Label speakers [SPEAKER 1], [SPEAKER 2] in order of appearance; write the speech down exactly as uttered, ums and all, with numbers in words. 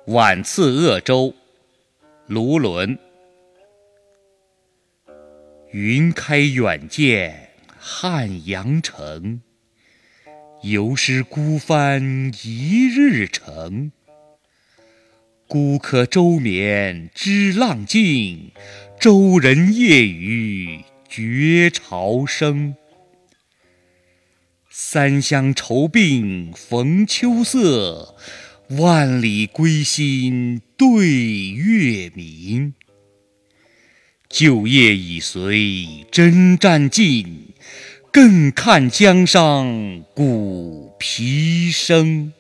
[SPEAKER 1] 晚次鄂州，卢纶。云开远见汉阳城，犹识孤帆一日程。孤客舟眠知浪静，舟人夜语觉潮生。三湘愁鬓逢秋色，万里归心对月明。旧业已随征战尽，更看江上鼓皮声。